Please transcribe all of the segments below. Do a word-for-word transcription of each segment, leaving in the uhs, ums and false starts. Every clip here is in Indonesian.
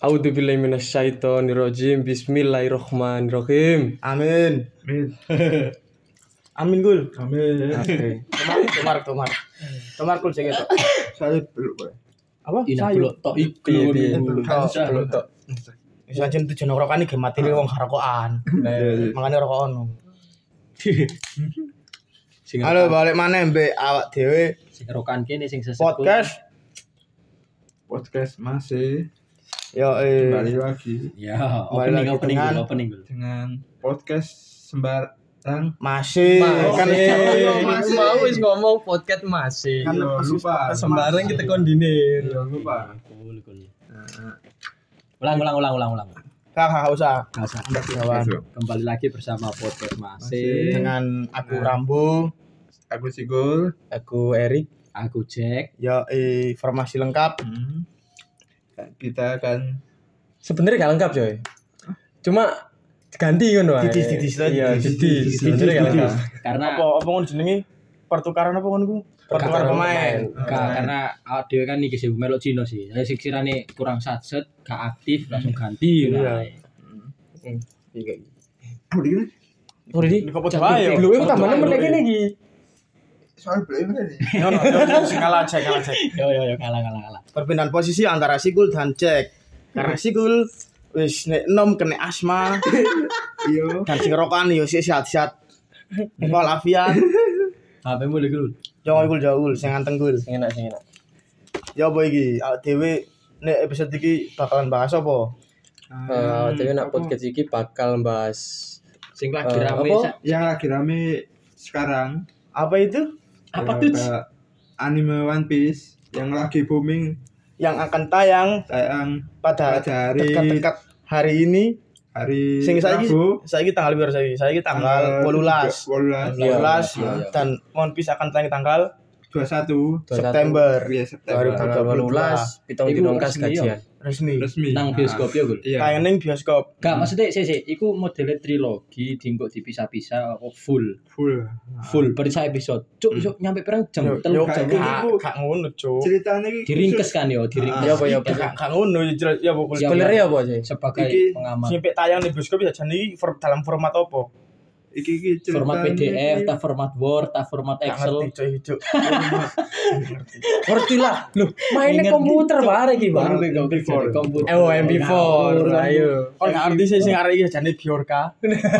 A'udzubillahi minasyaitonirrajim. Bismillahirrahmanirrahim. Amin. Amin. Amin Gul. Amin. Oke. Tomar, tomar, tomar. Tomar Gul sing ketok. Saya belum boleh. Apa? Ina Sayu. belum tok iku. Piye piye. Belum tok. Belum tok. Wis ancen tujuan rokokan iki matine wong rokokan. Makane rokokan. Sing Halo, balik maneh mbek awak dhewe sing rokan kene sing sesepuh. podcast. Podcast masih Yo eh kembali lagi Ya, Kembali opening lagi opening dengan- dulu, opening dulu. dengan podcast sembarang. masih kan Masih mau wis ngomong podcast masih. Kan Iya, posisi lupa. podcast Sembarang kita kondinir. Iya, lupa. Cool, cool. Ulang ulang ulang ulang ulang. Gak gak usah. Nggak usah. Kawan. Kembali lagi bersama podcast Masih. masih. Dengan aku Nah. Rambo, Aku Sigul. Aku Erik. Aku Jack. yo eh informasi lengkap. Hmm. Kita akan Sebenarnya gak lengkap coy. Cuma ganti ngono ae. Didis, didis lah, Iya, didis, didis. didis, Sebenarnya gak didis. lengkap. Karena Apa apa ngono jenenge? Pertukaran apa ngono ku? Pertukaran pemain. Gak, karena awak dhewe kan iki sih melok Cino sih. Saya sekiranya kurang satset, gak aktif langsung ganti. Iya. Iya. Oh, ini Oh, di. Di kopo bae yo. Belum itu tambahnya meneh kene iki. soal belum ini. Yo no, yo sing kalah cek, kalah cek. Yo yo yo kalah kalah kalah. Perpindahan posisi antara Sigul dan Jack. Karena Sigul wis nek enom kena asma Iya. dan sing rokokan yo sik sehat-sehat. Walafiat. H P-mu lagi dulu. Yo Gul jauh sing anteng Gul. Sing enak sing enak. Yo apa iki? Awak dhewe nek episode iki bakalan bahas apa? Eh, dhewe nak podcast iki bakal bahas Sing lagi Eh, rame apa? sa- Yang lagi rame sekarang Apa itu? apa ya, tuh? ada anime One Piece yang lagi booming Yang akan tayang tayang pada pada hari dekat-dekat hari ini. hari Sing saiki Rabu saiki tanggal piro saiki? Saiki tanggal delapan belas. delapan belas Iya. delapan belas Iya, iya. dan One Piece akan tayang tanggal dua puluh satu September Iya, September tanggal delapan belas pitung Iku dino kas resmi, gajian. resmi. resmi Nang bioskop ya, Gul. Iya. Tayang ning bioskop. Gak maksudnya sih sih, iku modelnya trilogi, diengkok dipisah-pisah, oh, full, full full per sak episode. Cuk, cuk nyampe perang jam, Yo telur yo jam. kayak gak gitu. gak ngono, Cuk. ceritanya ini Diringkes kan yo, diringkes. Iya, apa, iya, apa. Gak gak ngono yo jelas ya pokoknya. Siap. Spoilernya apa sih? Sebagai Iki- pengamat. Sampai tayang di bioskop ya jan iki for- dalam format apa? iki iki ceritanya Format P D F, tak format Word, tak format Gak Excel. ngerti coy, Cuk. Ngerti lah. Loh, mainnya Ingat komputer bareng iki, Bang. Baru ke komputer. komputer. Oh, M P four. Ayo. Kon gak ngerti sih sing arek iki jane Biorka.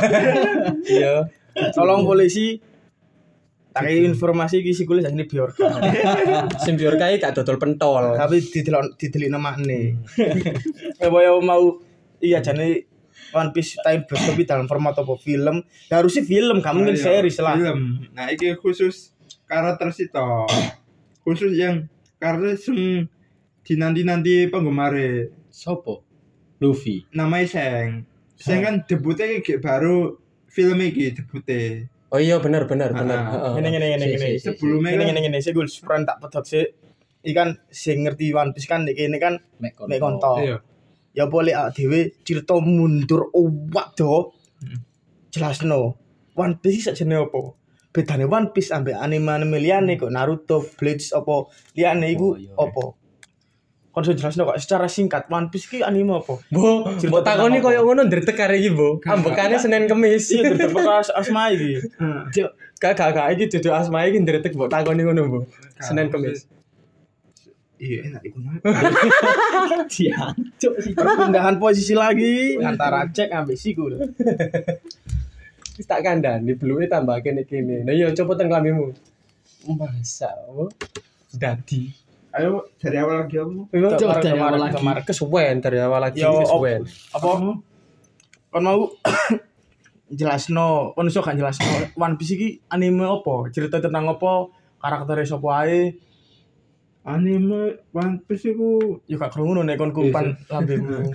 Iya. Tolong polisi tak informasi iki sih kulis jane Biorka. Sing biar kae gak dodol pentol. Tapi didelok didelikno makne. Eh boyo mau iya jane One Piece time bioskop iki dalam format apa film? Ya harusnya film, gak mungkin Ayo, series lah. film nah iki khusus karakter sito khusus yang karakter sing dinanti-nanti penggemar Sopo? Luffy. namanya Seng Seng kan debutnya iki baru film iki debutnya Oh iya benar benar benar. Ah, Heeh. Ngene ngene ngene Si, ngene. si, si. sebelumnya Ngene kan ngene ngene sih gue sepran tak pedot sih. Ikan sing ngerti One Piece kan iki ini kan Mek konto. mek konto. iya Ya boleh awak dhewe cerita mundur owak do. Jelasno. One Piece sakjane apa? Bedane One Piece ambek anime-anime liyane kok Naruto, Bleach apa liyane iku Oh, iya. apa? Kon iso jelasno kok secara singkat One Piece ki anime apa? Bu, Cerita mbok takoni tentang apa? koyo ngono ndretek kare iki, Bu. Ambekane Senin Kamis. Iya tetep bekas asma iki. Cuk, gak gak gak iki dudu asma iki ndretek mbok takoni ngono, Bu. Senin Kamis. iya enak iku mah Siang. Cuk sih. Perpindahan posisi lagi antara Jack ambek Sigul. Wis tak kandhani bluke tambah kene kene. Nah iya coba teng klambimu. Masa, Bu. Dadi. ayo dari awal lagi kamu Memang Coba dari kemarin awal lagi. kemarin kesuwen dari awal lagi Yo, op- kesuwen. apa kon mau jelasno kon iso gak jelasno One Piece iki anime apa cerita tentang apa karakternya sapa ae anime One Piece iku yo gak krungu nek kon kumpan lambemu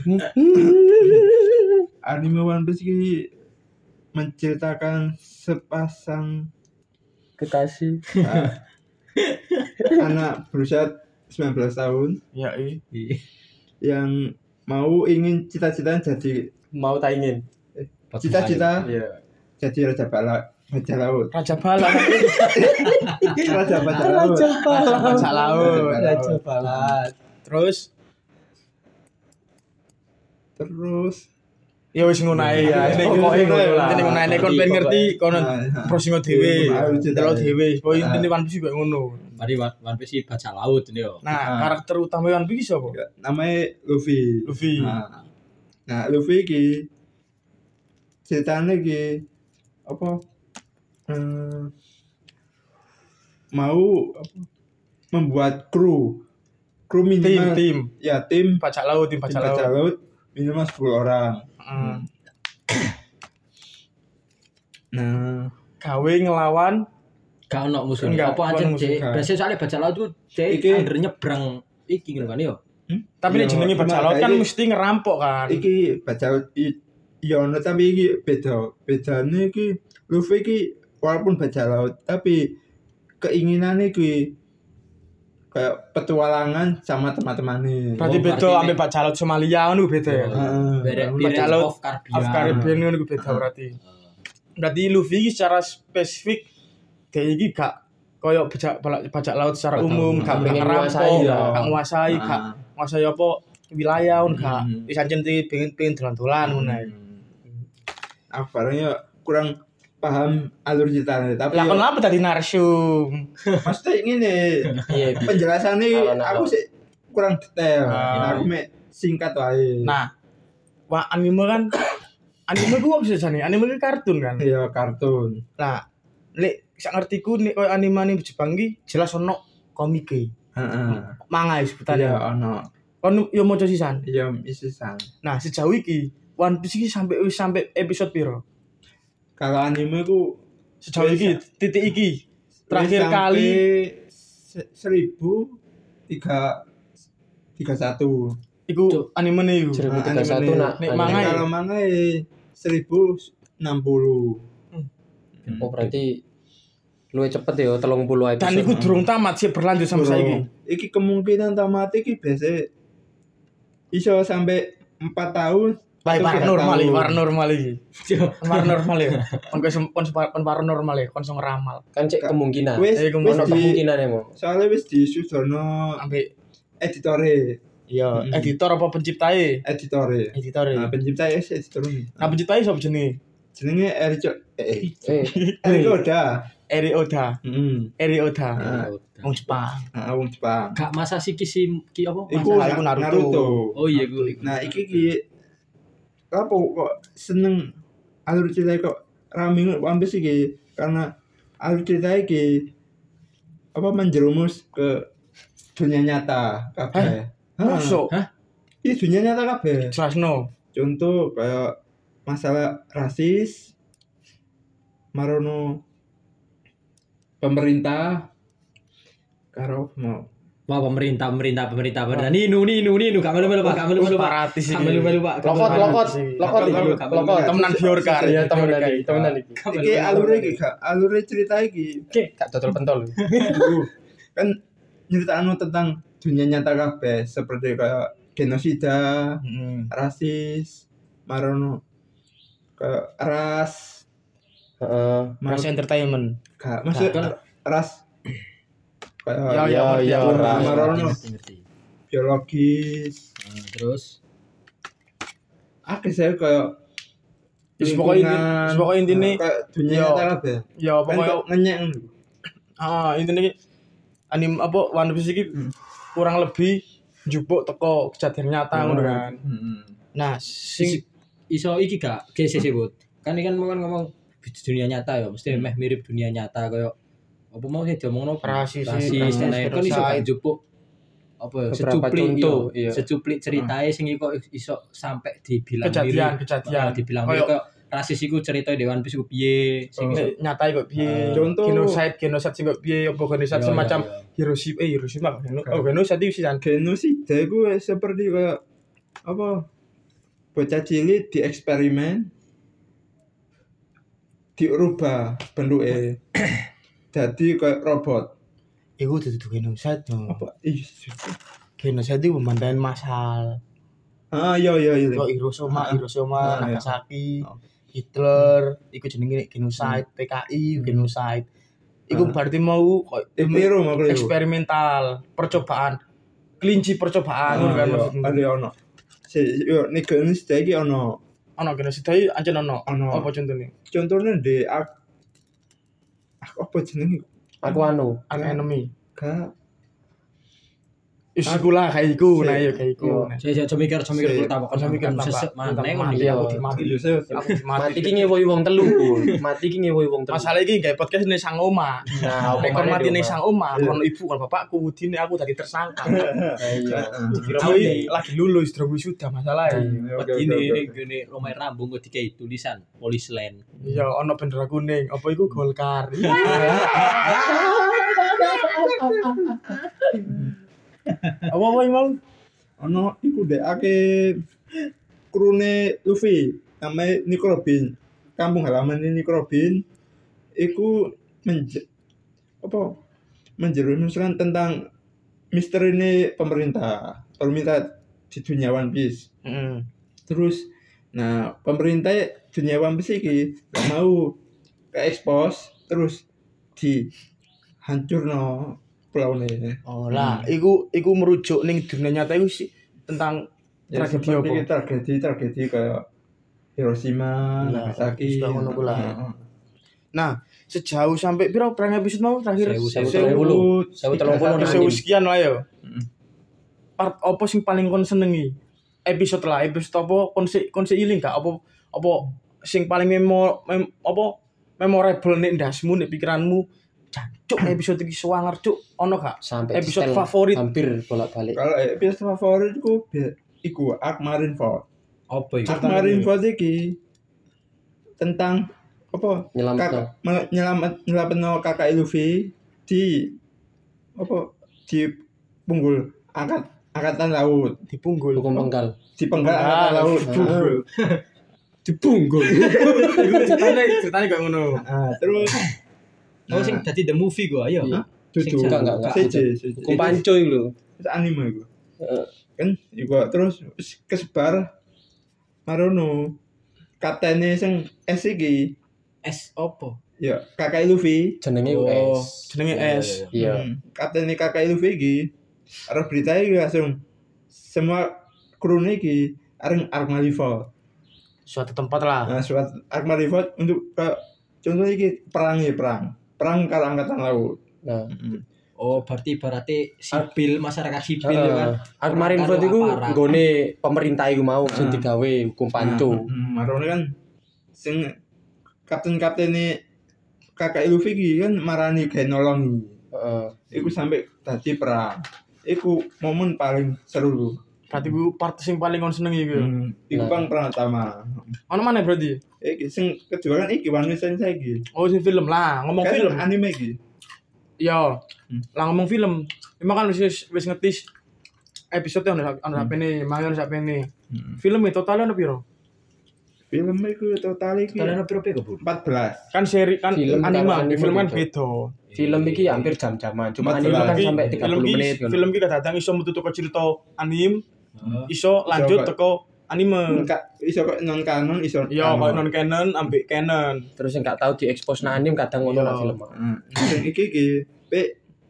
anime One Piece iki menceritakan sepasang Kekasih. uh, anak berusia sembilan belas tahun ya i yang mau ingin cita-citanya jadi Mau tak ingin. cita-cita Iya. jadi raja bala raja laut raja bala raja baja laut Raja Bala. Raja laut. Raja Bala. terus Terus Ya wis ngono ae ya. Nek pokoke ngono lah. Nek ngono nek kon pengen ngerti kono browsing dhewe. Delok dhewe. Pokoke intine One Piece koyo ngono. Mari One Piece iki bajak laut ini yo. Nah, karakter utama One Piece sapa? namanya Luffy. Luffy. Nah, nah Luffy iki ceritanya iki apa? Hmm, mau apa, membuat kru kru Tim, minimal tim. ya tim Bajak laut, tim tim bajak bajak laut. laut minimal sepuluh orang. Hmm. Nah, Gawe ngelawan Gak ono musuh. Enggak, Apa aja ono musuh. cek. Biasanya soalnya bajak laut tuh cek Iki- under nyebrang iki ngono kan yo. tapi nek Iya, jenenge bajak cuma laut kan iki- mesti ngerampok kan. iki bajak laut i- iya ono tapi iki beda. Bedane iki Luffy iki walaupun bajak laut tapi keinginannya iki kayak petualangan sama teman-temannya. Berarti Oh, beda berarti ambek bajak laut Somalia ngono beda ya. Oh, Heeh. Beda Bajak Pirates laut of Caribbean. Of Caribbean ngono iku beda berarti. Berarti Luffy iki secara spesifik dia iki gak koyo bajak bajak laut secara Gak umum, tahu. gak Pengen ngerampok, nguasai ya. gak nguasai, gak Ah. nguasai apa wilayah ngono gak. Hmm. Wis ancen pengen pengen dolan-dolan ngono ae. Aku barangnya kurang paham alur ceritanya tapi Lah ya, kon apa tadi narsum? maksudnya ini Iya. penjelasannya Alon-alon. aku sih kurang detail. Ah. Aku mek singkat wae. Nah, wah anime kan anime ku apa sih jane? Anime ku kartun kan. ya kartun. Nah, lek sak ngertiku nek koyo anime Jepang iki jelas ono komike. Heeh. Manga Iya sebutannya. ono. Kon yo maca sisan. Iya isisan. Nah, sejauh iki One Piece iki sampai wis sampai episode piro? Kalau anime ku Sejauh Wis, iki titik iki terakhir sampai kali se- seribu tiga tiga satu. iku Cuk. anime ne iku. seribu tiga anime puluh satu nih. nak. Nek anime. manga ya? Kalau manga eh, seribu enam puluh. Oh berarti luwih cepet ya telung puluh episode. Dan iku durung tamat sih berlanjut sampai saiki. Iki kemungkinan tamat iki biasa iso sampai empat tahun. Baik atau tiga paranormal iki, tahun. paranormal iki. Paranormal ya. Kon kon kon kon paranormal ya, kon sing ngeramal. Kan cek kemungkinan. Wis Eh, wis kemungkinan. Ono di kemungkinan emang. soalnya wis disudono Ambek editore, iya, Mm. editor apa penciptae? editore. Editore. Nah, pencipta es editore. Nah, penciptae sapa jenenge? Jenenge Eric eh Eh, Eric Oda. Eri Oda. Heeh. Eri Oda. Ah. Wong Jepang. Heeh, wong Jepang. Gak masa si kisi ki apa? Iku Masalah iku Naruto. Naruto. Oh iya gue. Nah, iki ki apa kok seneng alur cerita kok rame One Piece iki karena alur cerita iki apa menjerumus ke dunia nyata kabeh. Masuk. Iya dunia nyata kabeh. Jelasno. Contoh kayak masalah rasis, marono pemerintah karo mau Wah pemerintah pemerintah pemerintah pemerintah ninu ninu ninu gak melu melu pak gak melu melu pak Separatis gak iki. melu melu pak gak lokot melu, lokot sih. lokot Lokot, iki. lokot. Lokot. Temenan Biorkar. Iya temenan Biorkar. iki, temenan iki. gak melu, iki melu. alure iki gak alure cerita iki Oke, gak total pentol. kan nyeritakno tentang dunia nyata kabeh seperti kayak genosida, Heeh. rasis, marono kayak ras, Heeh. Ras entertainment. gak maksud Gak. ras kayak Ya, ya, ya, ya, ras. marono Ngerti, ngerti. biologis. Nah, terus Akeh saya kayak Wis pokoknya inti- lingkungan, wis pokoknya intine kayak dunia yo. nyata kabeh. ya Kan pokoknya kok ngenyek ngono. ah intine iki anim apa One Piece iki kurang lebih njupuk teko kejadian nyata ngono kan. Heeh. Nah, sing iso iki gak G C C bot kan ini kan mau kan ngomong dunia nyata ya mesti meh mirip dunia nyata kayak apa mau sih diomongno Rasis, rasis rasis, dan lain kan iso genocide. gak njupuk apa ya Beberapa secuplik contoh, iya iya. secuplik ceritae sing iku iso sampai dibilang kejadian mirip. kejadian Nah, dibilang Kayak- mirip kayak rasis iku cerita di One Piece iku piye sing iso Nek nyata kok piye? Ah, contoh- Genocide, genocide sing kok piye? Apa genocide Iya, semacam iya, iya. Hiroshima eh Hiroshima kok geno- oh genocide iki sisan. Genosida itu seperti kayak apa? Bocah cilik dieksperimen diubah bentuknya jadi kayak robot. Iku dudu genocide no. Apa? Ih, Genocide itu pembantaian massal. ah iya iya iya. Kok Hiroshima, Ah, Hiroshima, ah, iya. Nagasaki, Oh. Hitler, iku jenenge genocide, P K I genocide. Iku Ah. berarti mau kok Eh, keliru mau keliru. eksperimental, percobaan. Kelinci percobaan ngono Ah, kan iya, maksudnya. ada ono. Si yo nek Genesis iki ono Ono kene sedaya ancen ono. Ono. Apa contone? contohnya di ak aku apa jenenge Aku anu. Arc Enemy. gak Wis iku lah kayak iku, Si. nah ya kayak iku. Yo. Nah. Saya saya mikir, saya mikir Si. pertama kan Saya mikir tambah- sesek tambah mana mati, Iya. aku dimati. Iya, saya- Aku Mati dimati. ki ngewohi wong telu, Pur. Mati ki ngewohi wong telu. Masalah iki gawe podcast ning sang oma. Nah, Nek kon omane mati di ning omah. sang oma, Iya. kon ibu kon bapakku udine aku dadi tersangka. Nah, iya. Dikira Aku mati. iki lagi lulus terus wisuda masalah. Oke, oke, Ini oke, ini oke. gini rumah rambung kok dikai tulisan Police Land. Iya, ono bendera kuning. Apa iku Golkar? Apa apa mau? ono iku dek ake krune Luffy namanya Nico Robin kampung halaman ini Nico Robin iku menje, apa menjerumuskan tentang misteri ini pemerintah pemerintah di dunia One Piece Heeh. terus nah pemerintah dunia One Piece iki gak mau ke expose terus di hancurno pulau ini Oh lah, iku iku merujuk ning dunia nyata iku sih tentang ya, tragedi seperti apa? tragedi tragedi kayak Hiroshima, Nah, Nagasaki, sudah ngono ku lah. Heeh. Nah, sejauh sampai piro perang episode mau terakhir? Sewu, sewu, Sewu puluh. Sewu telung puluh Episode nang anime. sekian lah ya. Mm. Part apa sing paling kon senengi? Episode lah, episode apa kon se kon se iling gak apa apa sing paling memo mem, apa memorable nek ndasmu nek pikiranmu jancuk episode iki suwanger cuk ono gak? Sampai Episode di-setel favorit. hampir bolak-balik. Kalau episode favoritku be- iku Arc Marineford. Apa itu? Arc Marineford iki tentang apa? Nyelametno. Kakak me- nyelamat nyelametno kakak Luffy di apa? Di punggul angkat angkatan laut, Dipunggul. Hukum penggal. di penggal Ah, angkatan laut. punggul. Dipunggul. Iku ceritane ceritane kok ngono. Nah, terus Oh sing dadi the movie gua, ayo. Iya. Dudu. Enggak, enggak, enggak. C J, C J. Hukum panco iku lho. Itu anime iku. Heeh. Kan iku terus wis kesebar marono kaptene sing S iki S opo? ya kakak Luffy. Jenenge Oh. U S. Jenenge Iya, S. iya, Iya. Hmm, kaptene kakak Luffy iki arep berita iki langsung semua kru iki areng Arc Marineford. Suatu tempat lah. Nah, suat Arc Marineford untuk ke contoh iki perang ya perang. Perang karo angkatan laut. Nah, Oh, berarti berarti sipil masyarakat sipil ya kan. Arc Marineford iku Aparat. nggone pemerintah iku mau sing Ah. digawe hukum panco. Nah, marone kan sing kapten-kapten ini kakak Luffy iki kan marani gawe nolongi. Heeh. Iku sampai tadi perang. Iku momen paling seru. Berarti ku part sing paling kon senengi iku. Hmm, iku Nah. bang perang utama. Ono mana berarti? Iki sing kedua kan iki One Piece saiki. Oh, sing film lah, ngomong Kan film. anime iki. Iya. Hmm. Lah ngomong film. Emang kan wis wis ngetis episode ono ono Hmm. sapene, mangan sapene. Film itu totalnya ono piro? Film iku total iki Kalian piro piro, Bu? empat belas. Kan seri kan Film anime, kalau anime film kan gitu. beda. Film iki hampir jam-jaman, cuma Empat anime kan belas. sampai Iki- tiga film puluh iki- menit kan. Film iki kadang iso metu teko cerita anime, Heeh. iso lanjut kok- teko anime. Enggak iso kok non kanon iso. Iya, kalau non canon ambek canon. Terus yang gak tahu diekspos nang anime kadang ngono Iya. lah film. Heeh. Sing iki iki pe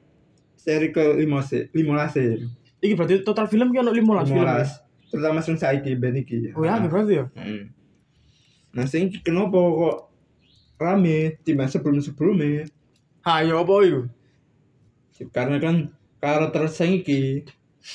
seri ke lima se lima belas e. Iki berarti total film ki ono lima belas film. lima ya? belas. Terutama sing saiki ben iki. Oh ya, iki berarti ya. Heeh. Nah, sing iki kenapa kok rame timbang sebelum-sebelumnya? Ha, yo apa iku? Karena kan karakter sing iki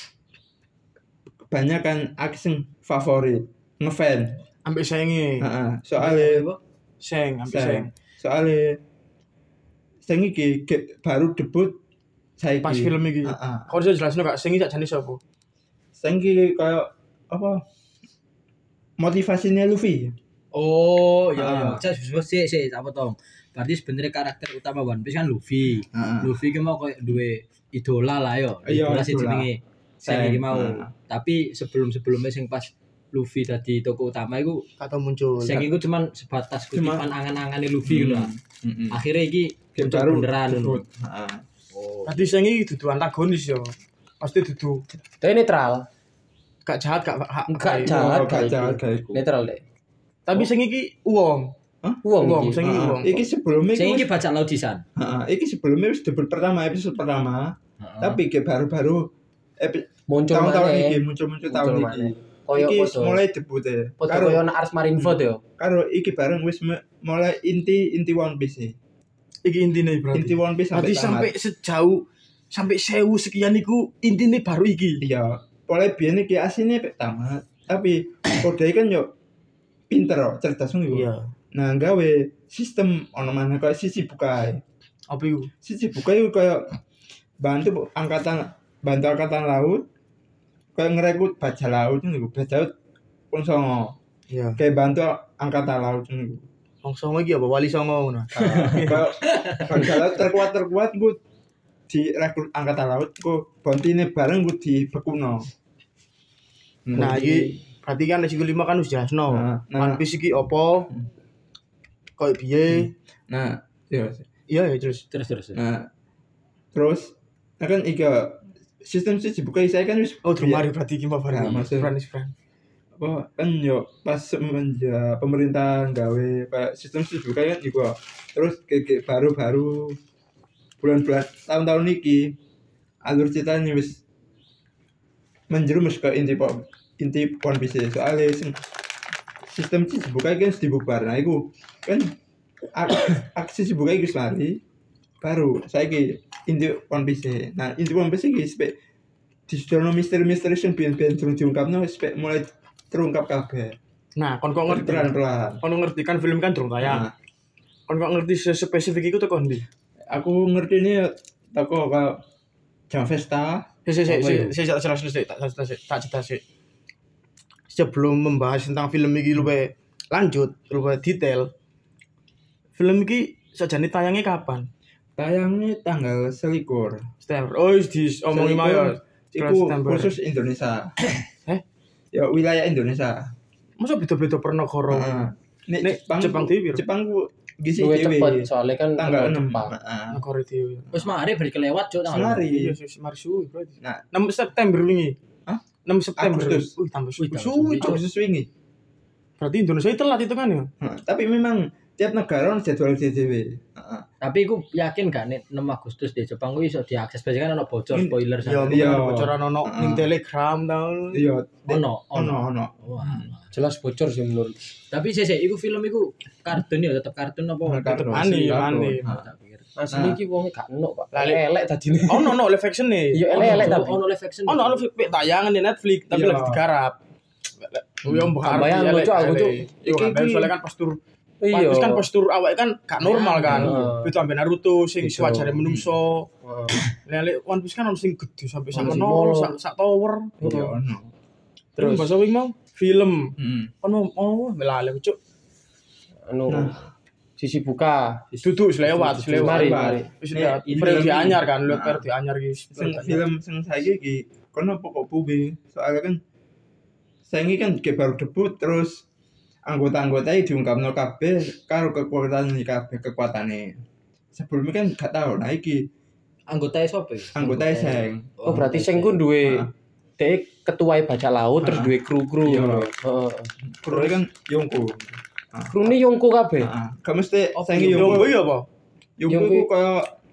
kebanyakan aku sing favorit, ngefan. Ambek senge. Heeh. Soale Seng, ambek seng. sing soale sing iki ge- baru debut saiki. Pas film iki. Heeh. Kau bisa jelasin gak sing iki sakjane sapa? Sing iki kayak apa? Motivasinya Luffy. Oh, iya Ah. iya. Saya sebut sih sih apa tong. Berarti sebenarnya karakter utama One Piece kan Luffy. Heeh. Luffy ki mau koyo duwe idola lah yo. Iya, Idola sih idola. jenenge. Saya Seng. iki mau. Nah. Tapi sebelum-sebelumnya sing pas Luffy dadi tokoh utama iku Kata muncul. sing iku cuman sebatas Cuma- kutipan angan-angane Luffy lho. Heeh. Akhirnya iki Ge- muncul baru beneran debut. ngono. Heeh. Oh. Berarti seng iki dudu antagonis yo. Pasti dudu Tapi netral. gak jahat gak hak. Enggak hak- jahat Oh, gak kayak jahat iku. kayak iku. Netral deh. Tapi sing iki uang. Uang Uang, iki. sing iki Heeh. uang. Iki sebelumnya Sing iku iki baca laudisan. Heeh, iki sebelumnya wis debut pertama episode pertama, Heeh. tapi kayak baru-baru epi- Muncul tahun-tahun maneh. iki muncul-muncul tahun Muncul iki. maneh. koyo iki podo. mulai debut e. Podo Karo koyo nek Ars Marineford yo. karo iki bareng wis me- mulai inti inti One Piece e. Iki intine berarti. Inti One Piece sampai Berarti sampai tamat. sejauh sampai sewu sekian iku intine baru iki. Iya, mulai biyen iki asine pek tamat, tapi Kodai kan yo pinter kok, cerdas ngono. Iya. Nah, gawe sistem ono mana kayak sisi bukai. Apa iku? Sisi bukai iku kayak bantu angkatan bantu angkatan laut kayak ngerekrut bajak laut ngono, bajak laut pun songo. Iya. Kayak bantu angkatan laut ngono. Wong songo iki apa wali songo ngono. Kayak bajak laut terkuat terkuat gue direkrut angkatan laut gue bontine bareng gue dibekuno. Nah, iki berarti kan sing kelima kan wis jelasno. Nah, nah. One Piece iki apa? Kayak piye? Nah, iya. Iya ya terus. Terus terus. Nah, terus nah kan iga sistem sih buka saya kan wis Oh, Drumari berarti iki apa Nah, maksud- Friends friend. apa kan yo pas semenjak pemerintah gawe kayak sistem sih buka kan iku. Terus kayak baru-baru bulan-bulan tahun-tahun iki alur ceritanya wis menjerumus ke inti pop inti One Piece soalnya sing- sistem sih buka kan dibubar. Nah, iku kan ak- aksi sih buka iku lari baru saya ki inti One Piece. Nah, inti One Piece iki spek di sono misteri-misteri sing ben-ben durung diungkapno spek mulai terungkap kabeh. Nah, kon kok ngerti? Pelan-pelan. Kon ngerti kan film kan durung tayang. Nah, Kon kok ngerti spesifik iku tekan ndi? aku ngerti ini toko kayak Jam Festa. Si si si Apa si itu? si tak jelas sih, tak jelas sih, tak jelas sih. Sebelum membahas tentang film iki luwih lanjut, luwih detail. Film iki sajane tayangnya kapan? Tayangnya tanggal selikur. September. Oh, wis diomongin mau ya. Iku September. khusus Indonesia. Heh? Ya wilayah Indonesia. Masa beda-beda per negara? Heeh. Nek Nek Jepang, Jepang dhewe piro? Jepang ku gisi Luwih dhewe. cepet soalnya kan Tanggal enam. Jepang. Heeh. Negara dhewe. Wis mari bari kelewat cuk tanggal. Semari. Iya, sih mari suwi berarti. Nah, enam September wingi. Hah? enam September. Agustus. Wih, tambah suwi. Wih, tambah Suwi, suwi. Cuk. khusus wingi. Berarti Indonesia itu telat itu kan ya? Heeh. Tapi memang tiap negara ono jadwal dhewe. Heeh. Tapi aku yakin gak nek enam Agustus di Jepang kuwi iso diakses biasanya kan ono bocor In- spoiler Ya, sana. mungkin Iya. ada bocoran ono Heeh. ning Telegram tahun. Iya, Ono, ono ono. Wah. Jelas bocor sih menurut. Tapi sih sih iku film iku kartun ya tetep kartun apa? Kartun. Ani, Kartun. ani. Heeh. Tak pikir. Asli Nah. iki wong gak enak, Pak. Lali- Elek tadine. Oh, no, no, live action nih. Iya, Ono, elek Cuk, tapi. ono live action. Oh, no, ono film tayangan di Netflix, tapi Iya. lagi digarap. Oh, yang Gak bayang lucu aku, Cuk. Iya, Iki- kan iki- soalnya kan postur Iya. Terus kan postur awake kan gak normal kan. Iya. Itu sampe Naruto sing Iya. wajare menungso. Wah. Lele One Piece kan ono sing gede sampai sak Ono sing meno, molo. sak sak tower. Iya, ono. Terus Terus bahasa wing mau film. Heeh. Kan mau oh melale cuk. anu Nah. sisi buka. Duduk wis lewat, wis lewat. Mari, Lewat. mari. Wis Nek, lewat. ini Periode lagi. anyar kan, lihat Nah. periode anyar iki. Sing film sing saiki iki kono pokok bubi. Soalnya kan saiki kan kayak baru debut terus anggota-anggotanya diungkapno kabeh karo kekuatan iki kabeh kekuatane. Sebelumnya kan gak tau. Nah iki Anggotanya sopo? anggotanya sing. Oh, berarti sing ku duwe Nah. dek ketua bajak laut terus Ah. duwe kru-kru. Iya. Heeh. Terus kan Yongko. Krune Yongko kabeh. Heeh. Gak mesti Oh, sing Yongko Yongko. iya apa? Yongko Yongko. iku kaya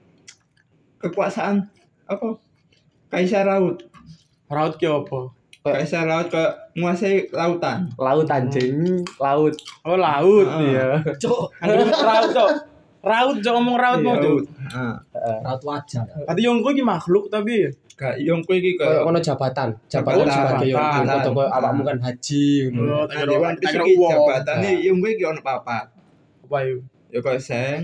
kekuasaan apa? Kaisar laut. Raut ki apa? Kaisar laut ke menguasai lautan. Laut anjing, laut. Oh, laut. Ah. Iya. Cuk, Anjir raut cok. Raut cok ngomong raut mau Iya, cok. laut. Heeh. raut wajah. Berarti Yongko ki makhluk tapi Gak Yongko iki Kayak kaya ono jabatan, jabatan Jabatan, sebagai Yongko. jabatan. Foto koyo awakmu kan haji ngono. Oh, Nah, di One Piece tak kira iki uang. jabatane Yongko iki ono papat. apa itu? Ya kaya Sen,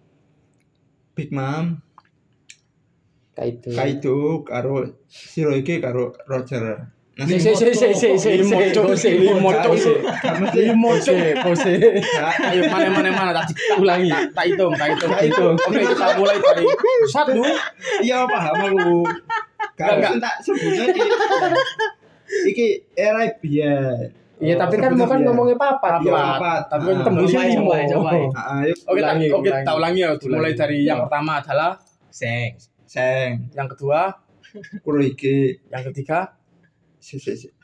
Big Mom, Kayak itu. Kaido karo Shirohige karo Roger. Nah, Si si si si si si Limo, Cuk. Limo, Cuk. gak mesti Pose, pose. gak Ayo mana mana mana tak tak- Ulangi. tak tak hitung, tak hitung. Tak hitung. Oke, kita mulai dari satu. iya paham aku. Gak Enggak, mesti tak sebutnya iki. Iki era biyen. Iya, tapi kan mau kan ngomongnya papat. Iya, Papat. papat. Tapi Ah. tembusnya Coba, limo. coba, coba. Heeh, yuk Oke, tak, Ulangi, oke, ulangi. tak ulangi ya. Ulangi. Mulai dari yang Iya. pertama adalah Seng. Seng, yang kedua, Kurohige, yang ketiga, si si si.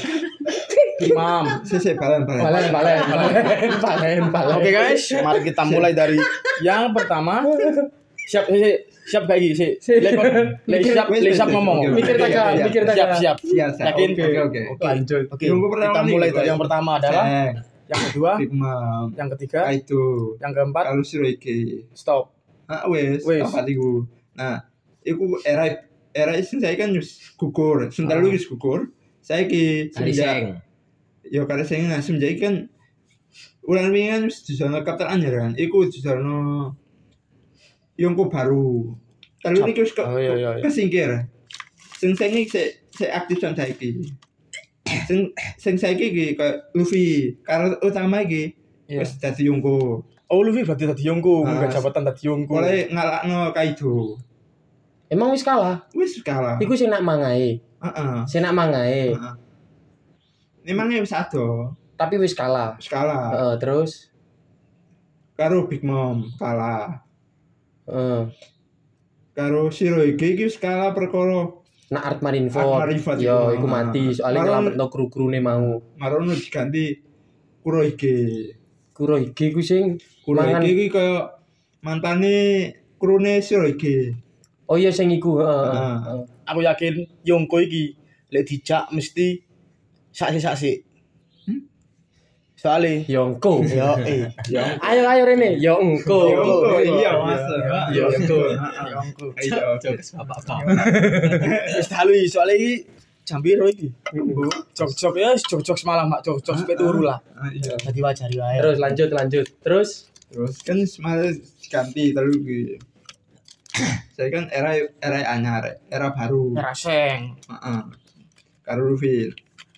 imam. Si si balen balen. Balen, balen, balen, balen, balen. Oke guys, mari kita mulai dari yang pertama. Siap siap siap kayak gini sih. Lek lek Mikir, siap wes, lek wes, siap wes, ngomong. oke, oke. Mikir tak Iya, iya. mikir tak Siap siap. Siap, siap. Yakin? Oke, oke, oke. Lanjut. Oke. Yang pertama Kita nih, mulai Bang. dari yang pertama adalah Seng, yang kedua, Big Mom, yang ketiga, Kaido, yang keempat, kalau Shirohige. stop. Ah wes, Wes. apa iku. Nah, iku era era isin saya kan wis gugur, sebentar Ah. lagi wis gugur. Saiki Kali semenjak seng. yo kare sing nah semenjak iki kan ulang wingi kan wis disono Kapten Anyar kan. Iku disono Yonko baru. Telu iki wis ke, Oh, iya, iya, iya. kesingkir. Sing sing iki sik sik aktif sampe saiki. Sing sing saiki iki kayak Luffy, karakter utama iki Iya. wis dadi Yonko. Oh Luffy berarti tadi Yonko, Ah, enggak jabatan tadi Yonko. Mulai ngalakno Kaido. Emang wis kalah. Wis kalah. Iku sing nak mangae. Heeh. Sing nak mangae. Heeh. Memangnya wis ado, Tapi wis kalah. wis kalah. Heeh, terus Karo Big Mom kalah. heeh. Karo Shirohige iki wis kalah perkara Nak Art Marineford. Art Marineford Yo, iku. iku mati soalnya Maron- ngelametno kru-krune mau. marono diganti Kurohige. Kurohige ku sing mangan. Kurohige iki kaya mantane krune Shirohige. Oh iya sing iku, heeh. Heeh. heeh. Aku yakin Yonko iki lek dijak mesti saksi-saksi. Hmm? Soale Yongko. yo eh Ayo ayo Rene. Yo engko. Yongko, iya, Mas. Yonko. Heeh. Yonko. Ayo. Apa-apa. Wis dalu iki soale iki jam piro iki? Jog-jog ya wis jog-jog semalam mak jog-jog sampai turu lah. Ah, iya. Dadi wajari wae. Terus lanjut lanjut. Terus Terus kan semalam diganti terus iki. Saya kan era era anyar, era baru. Ngeraseng. Heeh. Karo Luffy.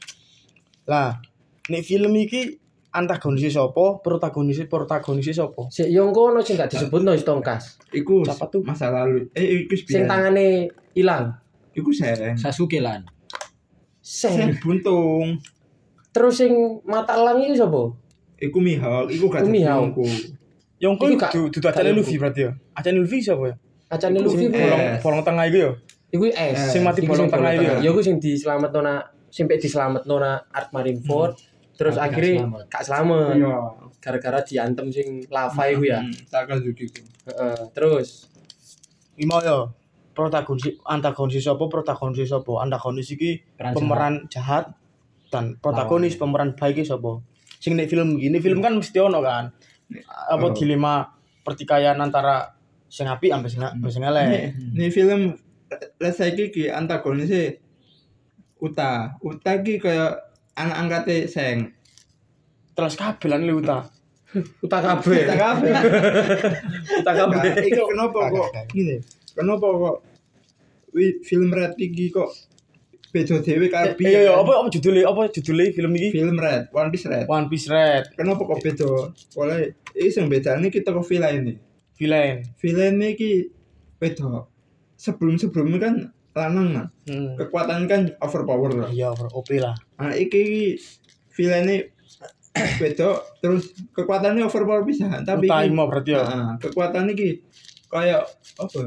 Lah, nek film iki antagonis sapa, protagonis protagonis sapa? si Yongko ono sing gak disebutno wis tongkas. Iku Siapa tuh? masa lalu. Eh iku Sing tangane ilang. Iku seng. Sasuke lan. Seng. Seng buntung. Terus sing mata elang iki sapa? Iku Mihawk, iku gak Iku dadi Mihawk. Yonko. Yonko Iku itu gak- dudu acane gak Luffy berarti ya. Acane Luffy sapa ya? Acane Iku Luffy sing bolong. Bolong Eh. bolong tengah iku ya. Iku es. Sing mati Iku bolong sing tengah bolong itu ya? Ya iku sing diselametno na sampai diselametno na Art Marineford. Terus Tapi gak akhirnya selamat. gak selamat. Iya. Gara-gara diantem sing lava iku ya. Hmm, Sakazuki iku. Heeh. Terus Iki mau ya. Protagonis antagonis sapa, protagonis sapa? Antagonis iki Peran pemeran jahat dan protagonis pemeran baik iki sapa? Sing nek film iki, ini film kan mesti ono kan. Apa Oh. dilema pertikaian antara sing apik ambek sing ambek sing elek. Nih, nih film lah saiki ki antagonisnya Uta. Uta ki kayak anak angkatnya Seng. Terus kabeh lan Uta. utak kabeh. Uta kabeh. Utak kabeh. Nah, iku kenapa kok gini? Kenapa kok wi film Red iki kok beda dhewe karo Eh, iya iya apa apa judulnya apa judulnya film iki? film Red, One Piece Red. One Piece Red, Kenapa kok beda? Oleh iki sing bedane kita kok villain. villain. Villain iki beda. Sebelum-sebelumnya kan lanang nah. Hmm. Kekuatan kan overpower lah. Iya, O P lah. Nah, iki villain beda terus kekuatannya overpower bisa tapi Uta iki- Imo berarti ya. Heeh, kekuatan iki kayak apa?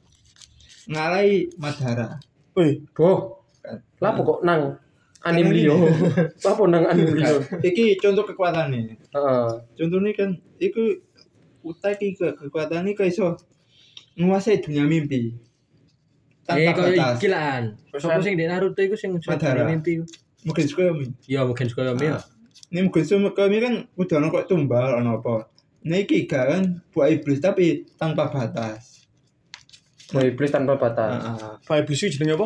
Ngalahi Madara. Wih, Boh. Lapo kok nang anime liyo? Lapo nang anime liyo? Iki contoh kekuatannya. Heeh. Contohnya kan iku Uta iki ke kekuatannya kayak iso menguasai dunia mimpi. Eh Tanpa koyo batas. iki lan. Sopo sing di Naruto iku sing Madara. mimpi iku. Mungkin suka mi. Ya mungkin koyo mi. Ini mungkin suka mi kan udah ono kok tumbal ono apa. Nah iki gak kan buah iblis tapi tanpa batas. Boy iblis tanpa batas. Heeh. Pak Iblis iki jenenge apa?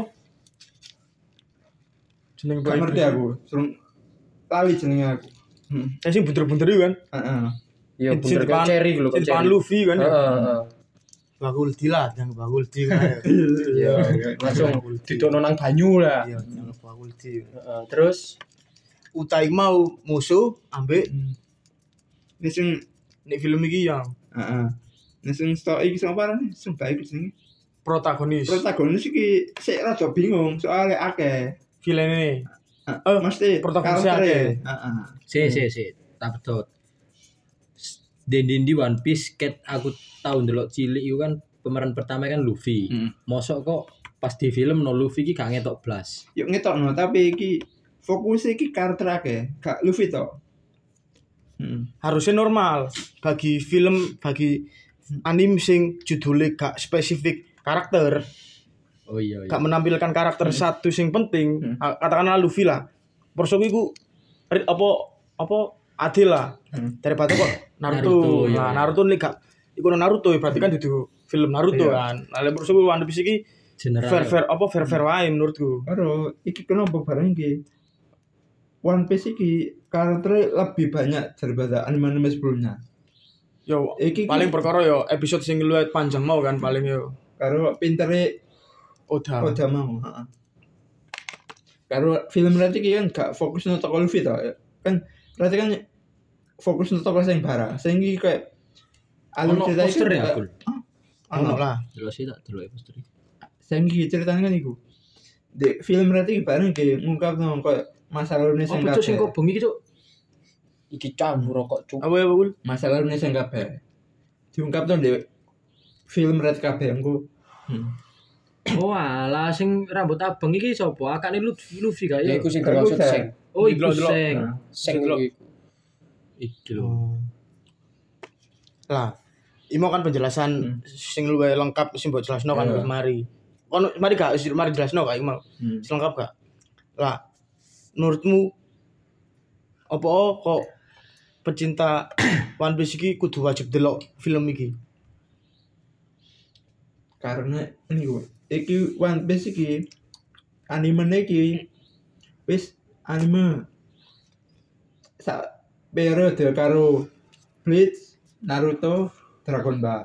Jeneng Gak Pak ngerti Iblis. aku. Serung lali jenenge aku. Hmm. Saya sing bunter-bunter itu kan. Heeh. Iya Sing bener depan- kan cherry lho Sing kok depan cherry. Luffy kan. Heeh, heeh. Bagul dilah, yang bagul di kan. Iya, langsung didono nang banyu lah. Iya, yang bagul di. Heeh, terus Uta iki mau musuh ambek Ini sing nek film iki yang heeh. Ini sing stok iki sing apa nih? Sing baik sing protagonis. protagonis iki sik rada bingung soalnya akeh. Villain ini. Eh, mesti protagonisnya karaktere. akeh. Heeh. Si si si. Tak betul. Dendin di One Piece ket aku tahu ndelok cilik iku kan pemeran pertama kan Luffy. Hmm. Mosok kok pas di film no Luffy ki gak ngetok blas. Yuk ngetokno tapi iki fokus iki karakter akeh, gak Luffy to. Hmm. Harusnya normal bagi film bagi anime sing judulnya gak spesifik karakter, Oh iya iya. gak menampilkan karakter satu sing penting, Hmm. ah, katakanlah Luffy lah. Persoku iku ri- apa apa adil lah. Hmm. Daripada kok Naruto. Naruto, iya, Nah, iya. Naruto nih gak iku Naruto ya berarti kan dudu film Naruto Iya. kan. Nah, lek persoku One Piece iki General. fair fair apa fair fair wae menurutku. Karo iki kenapa bareng iki One Piece iki karakternya lebih banyak daripada anime-anime sebelumnya. Yo Iki paling ki- perkara yo episode sing luwih panjang mau kan paling yo. karo pintere Oda. Oda mau, heeh. Karo film berarti ki kan gak fokus nang toko Luffy to. Kan berarti kan fokus nang toko sing barang. Sing iki kayak alur Ono cerita iki poster ya kayak- aku. Ono Ono. lah. Delok sih tak delok poster. Sing iki ceritanya kan iku. Di film berarti bareng ki ngungkap nang kayak masa lalu Oh, sing cuk sing kabeh. kok bengi cuk. Iki campur rokok cuk. Apa ya, Bul? Masa lalu sing kabeh. Diungkap nang di film Red kabeh engko. Hmm. Oh alah sing rambut abang iki sapa? Akane Luffy Luffy gak Ya ya? iku sing Kan termasuk udah. sing Oh iku Delok-delok. sing. Nah, sing Delok. iku. Iki lho. Lah, imo kan penjelasan Hmm. sing luwih lengkap sing mbok jelasno kan Iya. wis mari. Ono mari gak wis mari jelasno gak mau. Hmm. Wis lengkap gak? Lah, menurutmu apa kok pecinta One Piece iki kudu wajib delok film iki? Karena ini gue iki One Piece iki anime iki wis anime sa periode karo Bleach, Naruto, Dragon Ball.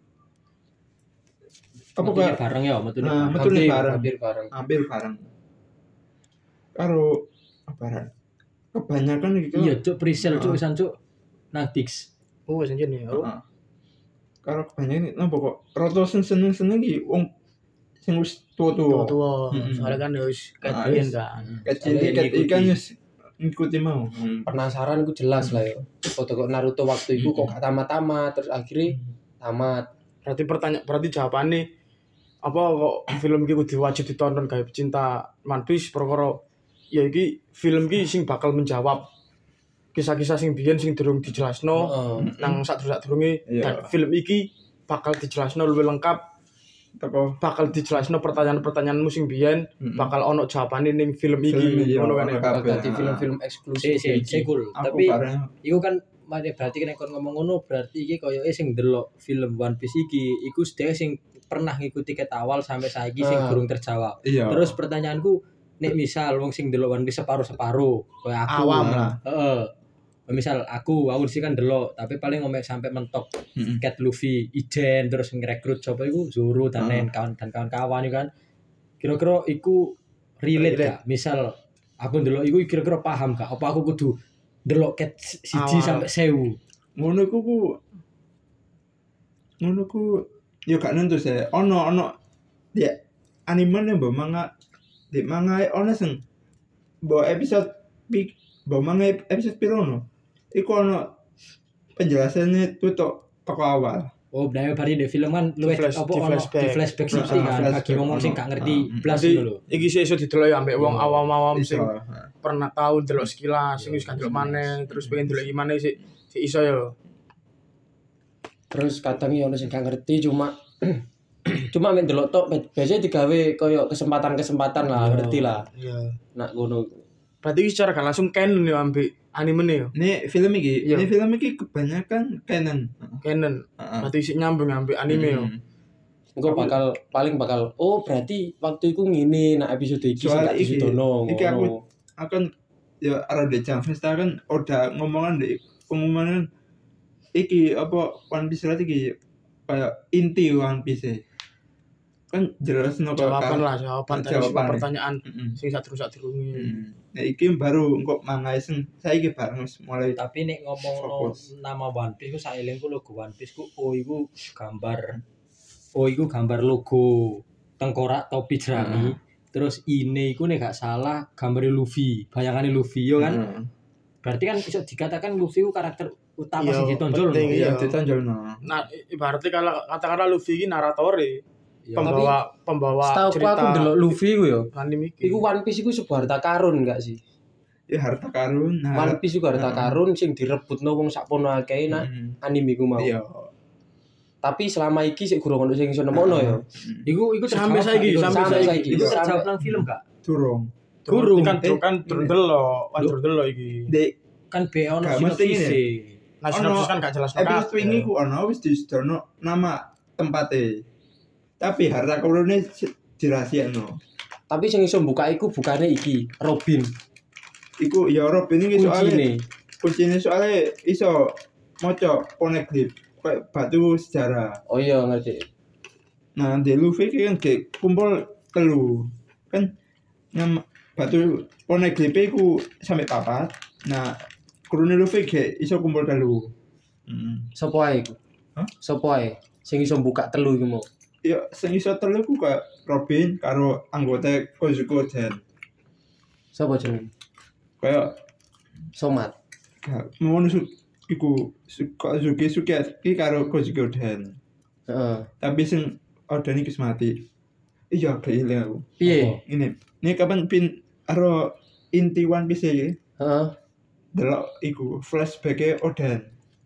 Apa Metune kok bareng ya, metune. Nah, bareng. metune Hampir bareng. hampir bareng. hampir bareng. Karo apa ran? Kebanyakan iki Iya cuk presale cuk Ah. wisan cuk. Nang Dix. Oh, wis anjen ya. Oh. Heeh. Karo kebanyakan napa kok roto sing seneng-seneng iki wong sing wis tua-tua. Tua-tua. Mm-mm. Soalnya kan ya wis Ah, keten wis. kan. Kecil Sampai ket ngikuti. ikan wis ngikuti mau. Hmm. Penasaran ku jelas lah ya. Foto kok Naruto waktu itu kok gak tamat-tamat terus akhirnya tamat. Berarti pertanyaan berarti jawabannya apa kok film iki kudu wajib ditonton gawe pecinta One Piece perkara ya iki film iki sing bakal menjawab kisah-kisah sing biyen sing durung dijelasno Heeh. nang sadurunge Iya. dan film iki bakal dijelasno luwih lengkap, Teko bakal dijelasno pertanyaan-pertanyaanmu sing biyen, Mm-mm. bakal ono jawabane ning film Film iki iki, ngono kan ono ya. kabeh. Bakal di film-film eksklusif Si si iki. si cool. aku Tapi bareng iku kan mari berarti kan kon ngomong ngono berarti iki koyoke sing delok film One Piece iki iku sedek sing pernah ngikuti ket awal sampai saiki sing Ah. durung terjawab. iya. Terus pertanyaanku nek misal wong sing delok One Piece separuh-separuh koyo aku. Awam kan. lah. Heeh. Misal aku aku sih kan delok tapi paling ngomong sampai mentok Mm-mm. Cat Luffy, Ijen terus ngerekrut sapa iku Zoro dan Ah. lain kawan dan kawan-kawan iku kan. Kira-kira iku relate Relate. gak? Misal aku ndelok iku kira-kira paham gak? Apa aku kudu ndelok Cat siji Awal. sampai sewu? Ngono ku ku ngono ku yo gak nentu sih. Ono ono ya anime nih mbok manga di manga ono sing mbok episode pi mbok manga episode piro ono. Iku ono penjelasannya tutuk toko awal. Oh, benar bari di film kan luwih flash- apa di ono flashback. di flashback Ah, sithik kan flashback bagi wong sing ono. gak ngerti Ah, blas Jadi ngono lho. iki sih iso didelok ya ambek wong Iya. awam-awam Iso. sing Heeh. pernah tahu delok sekilas, sing wis gak delok maneh, terus pengen delok iki maneh sih sih iso ya. Terus kadang ya ono sing gak ngerti cuma cuma mek delok tok biasanya digawe koyo kesempatan-kesempatan lah, ngerti lah. Iya. Nak ngono. Berarti iki secara gak langsung canon ya ambek anime ya. Ini film iki, Iya. ini film iki kebanyakan canon. Canon. Heeh. Berarti isi nyambung ambek anime ya. Mm. Engko bakal paling bakal oh berarti waktu itu ngene nak episode iki sing Soalnya gak iki- disono. iki aku- Akan ya arah de jam Vesta kan udah ngomongan di pengumuman iki apa One Piece berarti iki kayak inti One Piece kan jelas no Jawaban lah, jawaban dari semua Jawaban. pertanyaan Mm-mm. sing sadurung-sadurunge. Mm. Nah iki baru engko manga sing saiki bareng wis mulai Tapi nek ngomong Fokus. nama One Piece ku saelingku logo One Piece ku oh iku gambar oh iku gambar logo tengkorak topi jerami. Terus ini iku nek gak salah gambar Luffy, bayangane Luffy yo kan. Heeh. Berarti kan bisa dikatakan Luffy ku karakter utama Iya, sing ditonjol. penting, lho. Iya, Iya. ditonjolno. Nah, ibaratnya kalau katakanlah Luffy ini naratore, Iya. pembawa pembawa setahu cerita aku ndelok Luffy ku yo. anime iki. Iku One Piece iku sebuah harta karun enggak sih? Ya harta karun. Nah, One Piece iku harta Heeh. karun sing direbutno wong sakpono akeh nak Mm. anime iku mau. Iya. Tapi selama iki sik gurung ono sing iso nemokno ya. Iku iku Sampai terjawab, saiki, iku sampai sampai saiki. Iku Sampai- terjawab nang film gak? Durung. Guru kan Eh, kan durung delok, kan durung delok iki. Dek Kan be ono Gak mesti sinopsis. ngene. Nah, sinopsis kan gak jelas episode wingi ku ono wis disedono nama tempate. Tapi harta karune dirahasiakno. Tapi sing iso buka iku bukane iki, Robin. Iku ya Robin iki soalnya Kuncine. kuncine soalnya iso maca poneglyph kayak batu sejarah. Oh iya ngerti. Nah, di Luffy ki kan kayak kumpul telu. Kan nama batu poneglyph iku sampai papat. Nah, kurune Luffy kayak iso kumpul telu. Hmm. Sopo ae iku? Hah? Sopo ae sing iso buka telu iku mau? Ya sing iso telu ku kayak Robin karo anggota Kozuki Den. Sopo jenenge? Kayak Somat. gak mau nusuk iku su- Kozuki Sukiyaki karo Kozuki Den. Heeh. Tapi sing Oden iki wis mati. Iya, kayak ilang aku. Piye? Ini, ini kapan pin aro inti One Piece iki? Heeh. Delok iku flashback-e Oden.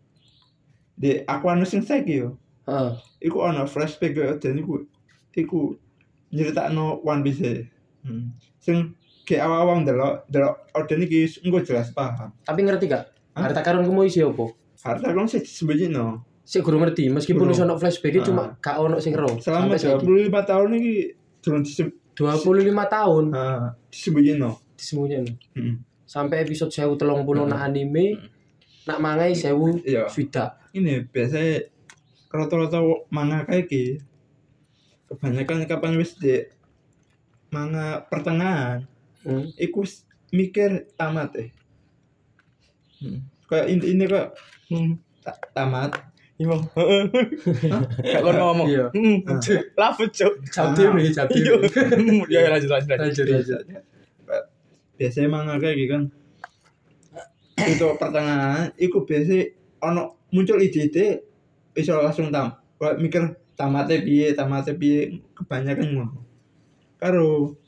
Di Aquanus sing saiki yo. Heeh. Iku ana flashback Oden iku iku nyeritakno One Piece. Hmm. Sing ke awal-awal delok delok Oden iki engko jelas paham. Tapi ngerti gak? Hah? Harta karun ku mau isi opo? Harta kan sih disembunyiino. Sik gurung ngerti, meskipun Gurung. iso ono flashback Ah. cuma gak ono sing ero. Selama Sampai dua saiki. puluh lima tahun iki durung disem dua puluh lima tahun ah, disembunyiino. disembunyikan. Heeh. Sampai episode seribu tiga puluh Hmm. nak anime, nak mangai seribu Iya. swidak. Ini biasanya rata-rata manga kayak iki kebanyakan kapan wis di manga pertengahan Hmm. iku wis mikir tamat eh hmm. kayak inti ini kok hmm, ta- tamat Iya. Gak kon ngomong. Iya. Heeh. Lafut, Cuk. Jauh dewe, jauh Iya. dewe. Ya lanjut lanjut. lanjut. Lanjut, lanjut. biasanya manga kayak gitu kan itu pertengahan iku biasa ono muncul ide-ide iso langsung tam kayak mikir tamatnya piye tamatnya piye kebanyakan ngono karo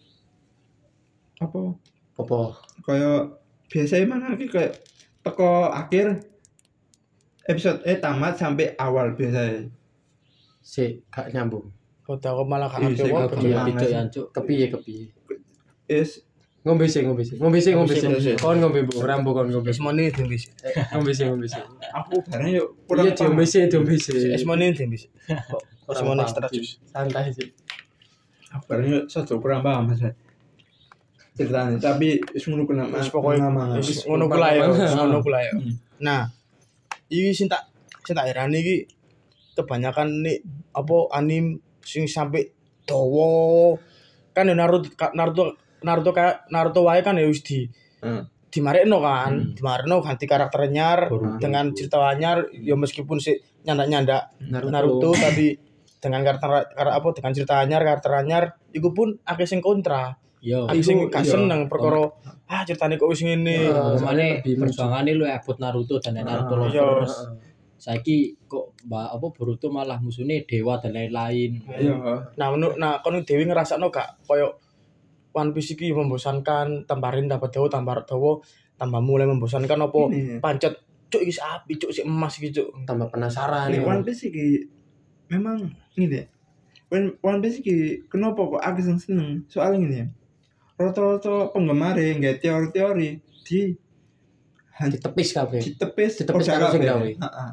apa Apa? kayak biasanya mana ki kayak teko akhir episode eh tamat sampai awal biasanya Sik, gak nyambung. Kau tahu malah gak Iya, ngerti sih, apa. gak Iya, Kemana gitu sih? ya, Cuk. Kepiye kepiye. is Ngombe sih, ngombe sih. Ngombe sih, ngombe sih. Ngombe sih. Kon ngombe bu, rambo kon ngombe. Esmoni tembis. Eh, Ngombe sih, ngombe sih. aku bareng yuk kurang Iya, diombe sih, diombe sih. Esmoni tembis. Kurang Esmoni paham extra sih. jus. Santai sih. aku bareng yuk satu kurang paham mas ceritanya tapi is ngono kena Wis pokoke manga wis ngono ku lah ya, wis ngono ku lah ya. Hmm. Nah, iki sing tak sing tak herani iki kebanyakan nih apa anim sing sampai dawa kan ya Naruto Naruto Naruto kayak Naruto wae kan ya wis di Hmm. dimarekno kan, Hmm. dimarekno ganti karakter anyar Boruto. dengan cerita anyar ya meskipun si nyandak-nyandak Naruto. Naruto tapi dengan karakter kar- apa dengan cerita anyar karakter anyar iku pun akeh sing kontra. Yo. Akeh sing iku, gak iya. seneng perkara ah ceritane kok wis ngene. Iya. Kemane lebih perjuangannya lu abot Naruto dan Naruto Ah, iya. lovers. Saiki kok mbak apa Boruto malah musuhnya dewa dan lain-lain. iya Nah, menurut nah kon Dewi ngrasakno gak koyo One Piece iki membosankan, tambahin tambah dawa, tambah dawa, tambah mulai membosankan apa Ini. pancet cuk iki api cuk si emas iki cuk. Tambah penasaran. Ini ya. One Piece iki memang ini deh. One One Piece iki kenapa kok aku sing seneng? Soalnya ini rata-rata penggemar nggak teori-teori di Ditepis kabeh. ditepis Ditepis oda karo sing kabeh. gawe. Heeh.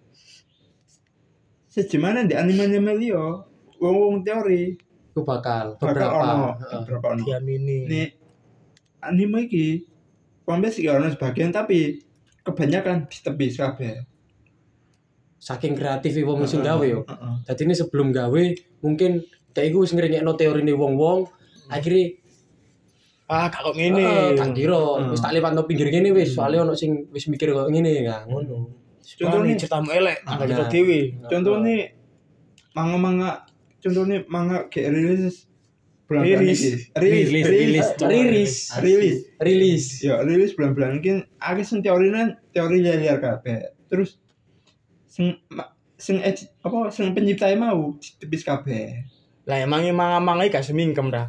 Sejemana di anime-anime liya wong-wong teori Ku bakal bakal beberapa. ono Heeh. beberapa ono. Diamini. Nih anime iki One Piece iki ono sebagian tapi kebanyakan ditepis kabeh. Saking kreatif wong sing gawe yo. Heeh. Dadi ini sebelum gawe mungkin dek iku wis ngrengekno teorine wong-wong, akhirnya Ah, gak kok Heeh, ngene. tak kira Heeh. wis tak lewatno pinggir kene wis, soalnya ono sing wis mikir kok ngene ya, ngono. Contohnya Contohnya- ceritamu elek, Ah, angkat cerita nah. dewi. Contohnya manga-manga contohnya manga kayak rilis bulan-bulan Rilis. iki. rilis Rilis, rilis rilis. rilis Rilis. ya rilis bulan-bulan mungkin akeh sing teorine teori liar kabeh terus sing ma- sing ed- apa sing pencipta mau ditepis kabeh Lah emangnya manga-manga iki gak semingkem dah.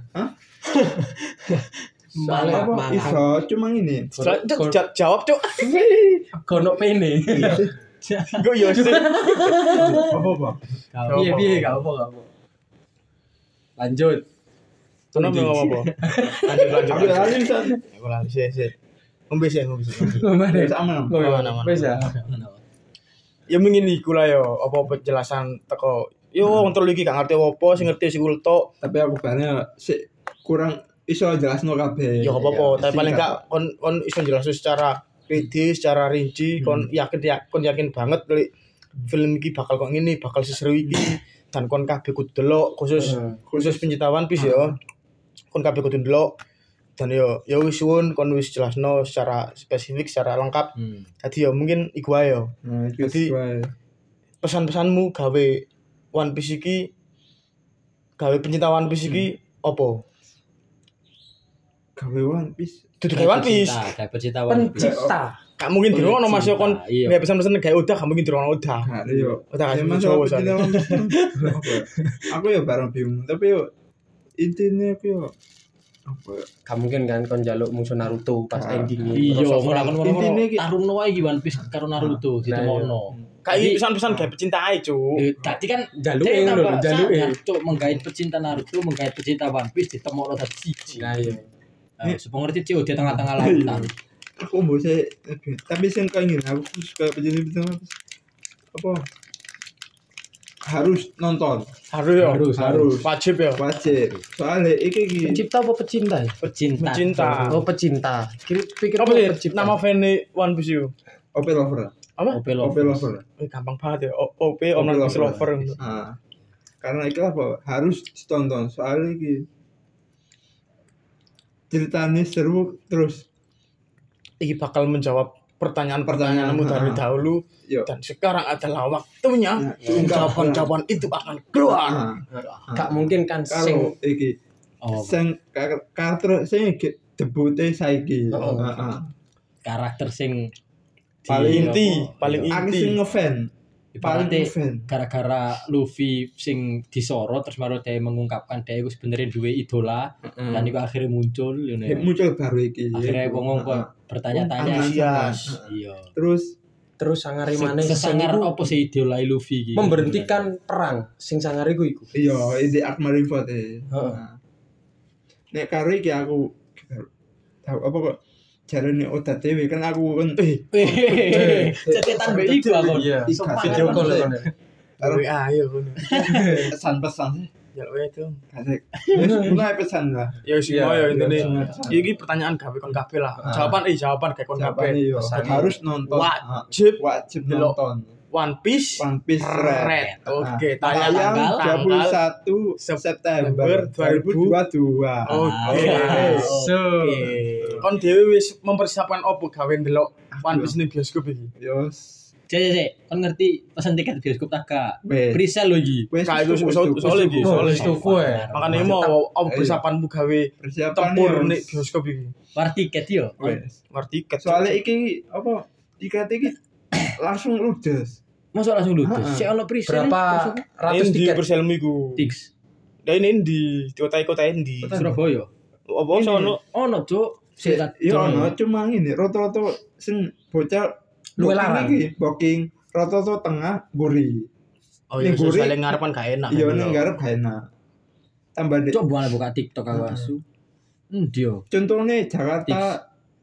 Soalnya apa manga. iso cuma ini Cuk, jawab cuk. Gono pene. Gue yo sih. Apa-apa? Piye piye gak apa gak apa. Lanjut. Kenapa ngomong apa? Lanjut lanjut. Aku lali bisa. Aku lali sih sih. Ngombe sih ngombe sih. Mana? Sama. Oh, Aman, aman. Wis ya. Ya mungkin iku lah yo apa penjelasan teko. Yo wong telu iki gak ngerti apa, sing ngerti sing ultok. Tapi aku barangnya sik kurang iso jelasno kabeh. Ya apa-apa, tapi Sing paling gak- gak kon kon iso jelasin secara pede, secara rinci, kon yakin ya, kon yakin banget lek film iki bakal kok ngene, bakal seseru iki dan kon kabeh kudu delok khusus Hmm. khusus pencinta One Piece ya. Kon kabeh kudu delok dan yo yo wis suwun kon wis jelasno secara spesifik, secara lengkap. Hmm. Jadi yo mungkin iku ae yo. Nah, itu Jadi- wae. Pesan-pesanmu gawe One Piece iki gawe pencinta One Piece iki opo? Gawe One Piece. Dudu gawe One Piece. Kayak pecinta One Piece. Pencipta. Gak mungkin dirono Mas yo kon Iya. nggak pesan-pesan gawe udah gak mungkin dirono udah. Nah, yo. Udah Ya, kasih Mas, cowok aku soalnya. cinta One Piece. Apa ya? Aku ya bareng bingung, tapi yo intinya aku yo apa ya? Gak mungkin kan kon njaluk musuh Naruto pas Ah. endingnya. Iya, crossover. ngono ngono. Intine iki- Tarungno wae iki One Piece karo Naruto ditemono. Kayak Jadi- pesan-pesan gawe pecinta ae, Cuk. Eh, Tadi kan Jaluke dia ngono lho, tambah jaluke. sadar, Cuk, menggait pecinta Naruto, menggait pecinta One Piece ditemokno dadi siji. Nah iya. Eh, Supaya ngerti Cuk di tengah-tengah lautan. Aku mau saya tapi sing kengin aku suka penjelasan apa harus nonton Harus ya. Harus, harus Wajib ya. wajib soalnya iki iki Pencipta apa pecinta ya? Pecinta. Pecinta. Oh pecinta. Kira pikir Apa sih pecinta. nama fan One Piece itu? O P lover Apa? Ope lo. O P lover Eh, gampang banget ya. O- OP One Piece Lover. nah karena itu apa harus ditonton soalnya iki ceritanya seru terus Iki bakal menjawab pertanyaan-pertanyaanmu Pertanyaan, dari ha. dahulu yo dan sekarang adalah waktunya Ya, jawaban-jawaban itu akan keluar. nah, Gak mungkin kan sing karo iki Oh, sing kar- karakter sing iki debute saiki Oh. heeh karakter sing di- Paling inti, apa, paling iya. aku inti. sing ngefan paling Ibaratnya ngefan gara-gara Luffy sing disorot terus baru dia mengungkapkan dia itu sebenarnya dua idola Hmm. dan itu akhirnya muncul you know. Ya, muncul baru iki akhirnya wong kok Heeh. bertanya-tanya Antusias. iya terus terus sangare Se- maneh sesangar sing iku apa sih idola Luffy iki memberhentikan perang sing sangare iku iku. iya ini Arc Marineford e Heeh. Nah. nek karo iki aku tahu apa kok jarane Oda dhewe kan aku kan Eh, cetetan mbek iku aku Iya. Ikat. Video call kan. Karo ah, ayo ngono. pesan-pesan sih Ya wes itu. kasih wis mulai pesan lah Ya wis Iya, mau ya intine. pesan. Iki pertanyaan gawe kon kabeh lah. Ah. Jawaban eh jawaban gawe kon Jawaban kabeh. iya Pesan. harus nonton Wajib wajib delok. nonton One Piece One Piece Red. Red. Oke, Nah, tayang tayang tanggal dua puluh satu September September dua ribu dua puluh dua. Oke. So. Kon dhewe wis mempersiapkan opo gawe ndelok One Piece ning bioskop iki? Yos. Cek cek cek kan ngerti pesan tiket bioskop tak gak Wes. presale lho iki Wes Kayak wis wis tuku, soalnya wis iki, tuku. soalnya Wis tuku ya. Makane mau opo persiapanmu gawe Persiapan tempur ya, ning wis. bioskop iki? war tiket yo Wes. War tiket. Soalnya iki apa tiket iki langsung ludes. masuk langsung ludes Heeh. sik ono presale Berapa ratus di tiket? perselmu iku? Tix Lah ini di di kota-kota endi? Kota- Surabaya Apa Ini. sono? ono cuk sik tak Iya delok. ono cuma ini rata-rata sing bocah Luwe booking larang. iki booking rata-rata tengah guri. Oh iya, Ning guri- soalnya ngarepan gak enak. Iya ning garep gak enak. Tambah dek. coba malah buka TikTok aku Heeh. asu endi yo Contohnya Jakarta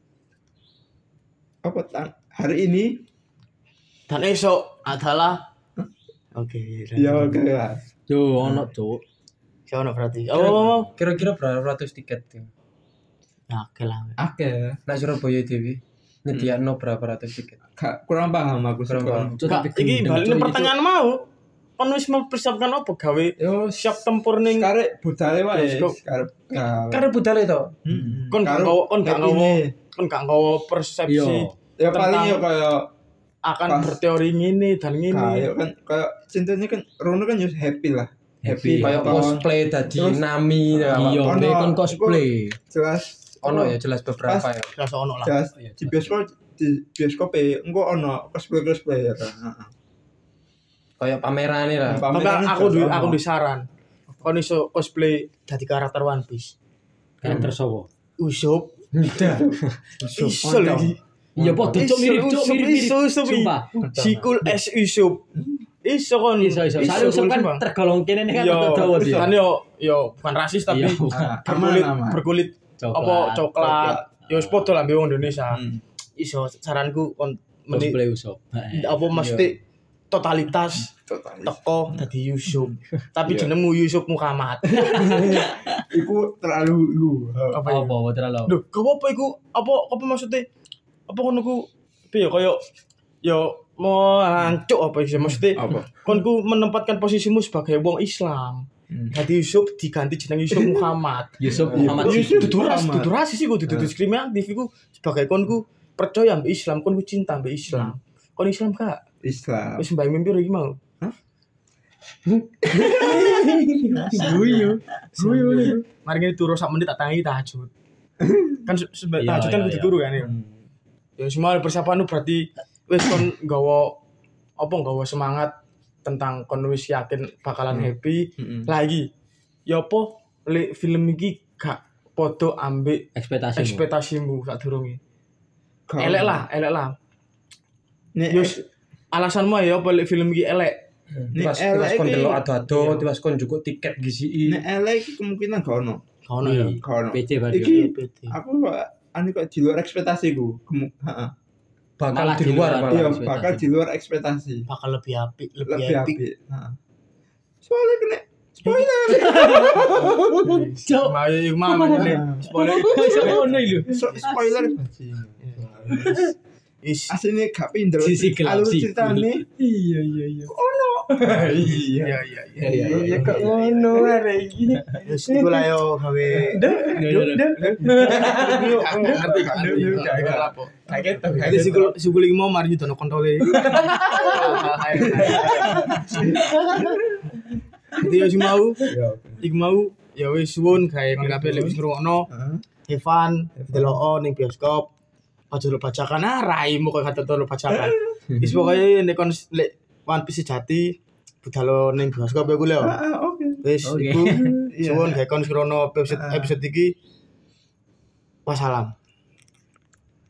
apa ta- hari ini Dan esok adalah Oke. ya oke lah. yo ono cuk Sono berarti. Oh, oh, oh. Kira-kira berapa ratus tiket? Ya, Ya, oke lah. Oke. nah Surabaya T V nyediakno berapa ratus tiket? Gak kurang paham aku Kurang sekarang. paham. Cuk, Kak, tapi iki gendeng, balik Cuk, ning itu. pertanyaan mau. Kon wis mempersiapkan apa gawe Yo siap tempur ning sekarang budale wae. Bioskop. Sekarang gak. Karena budal itu. Hmm. kon gak Karo nggawa kon gak kayak nggawa ini. kon gak nggawa persepsi Yo Ya paling tentang- ya kayak akan pas- berteori ngene dan ngene. kayak kan kayak cintanya kan Rono kan just happy lah. Happy. Happy Kayak nonton. cosplay tadi Terus- Nami ya. iya Ono, be kon iku- cosplay jelas Ono ya jelas beberapa ya. Jelas ono lah. jelas Oh, iya, di bioskop di bioskop e engko ono cosplay cosplay ya kan. Heeh. Kayak pamerane lah. Tapi Pameran aku jelas du ono. aku di saran. Kon iso cosplay dadi karakter One Piece. karakter sopo Usopp Udah. iso lagi. Iya padha cuk mirip cuk mirip-mirip. Iso iso Sumpah. Sikul es Yusuf. Iso kon. Iso iso. Soale Yusuf kan Bang. tergolong kene kan Yo, dawa dia. kan yo yo bukan rasis tapi Iya, bukan. berkulit Aman, aman. berkulit Coklat. apa coklat. Yo wis padha lah mbek wong Indonesia. Hmm. Iso saranku kon meni Cosplay Yusuf. Heeh. apa mesti totalitas Totalis. teko dadi Yusuf. Tapi Iya. jenengmu Yusuf Muhammad. Iku terlalu lu. Apa ya? Apa terlalu? Duh, gak apa iku? Apa apa maksudnya? Apa kon ku piye kaya yo mau hancuk apa sih maksudnya? Apa? Kon ku menempatkan posisimu sebagai wong Islam. Hmm. Dadi Yusuf diganti jeneng Yusuf Muhammad. Yusuf Muhammad Yusuf. Siti. Dudu ras, Muhammad. dudu rasis iku, dudu diskriminatif iku sebagai kon ku percaya mbek Islam, kon ku cinta mbek Islam. Kon Islam gak? Islam. Wis mbayang mimpi iki mau. Guyu. Guyu. Mari ngene turu sak menit tak tangi tahajud. Kan se- sebe- Iya, tahajud kan iya, kudu iya. turu kan ya. Ya semua persiapan lu berarti wis kon nggawa apa nggawa semangat tentang kon wis yakin bakalan Hmm. happy. Heeh. Lagi ya apa lek film iki gak padha ambek Ekspektasi. ekspektasimu sadurunge. Elek lah, elek lah. Nek Yus alasanmu ya apa lek film iki elek? Nek Tiwas tiwas elek kon iki- delok ado-ado, Iya. tiwas kon juga tiket gisi. nek elek iki kemungkinan gak ono. Gak ono ya. Gak ono. P C berarti. Iki P T. aku kok anu kok di luar ekspektasiku. Kemu- Heeh. Bakal Malah di di luar luar. malah. Iya, ekspektasi. bakal di luar ekspektasi. Bakal lebih apik, lebih, Lebih apik. apik. Heeh. Soalnya kena spoiler. Cok, mau iku mah meneh. Spoiler. Iso ngono iki lho. So- spoiler. Is Aslinya gak pinter. Sisi gelap, Alur sisi ceritane Iya iya iya. iya. iya iya iya. Iya iya. Ya kok ngono arek iki. Wis iku lah yo gawe ngerti gak ngerti. Gak apa. Kaget to. Jadi sikul sikul iki mau mari dono kontole. Jadi yo sing mau, iku mau ya wis suwun gawe kabeh lek wis ngrungokno Heeh. Evan delok ning bioskop. Aja lupa bacakan ah raimu kok kata lupa bacakan. Wis pokoke nek kon lek One Piece sejati budal ning bioskop ya ku lho. Ah, ah, oke. Wis Oke. iku Iya. suwun gawe kon srono episode episode iki. Wassalam.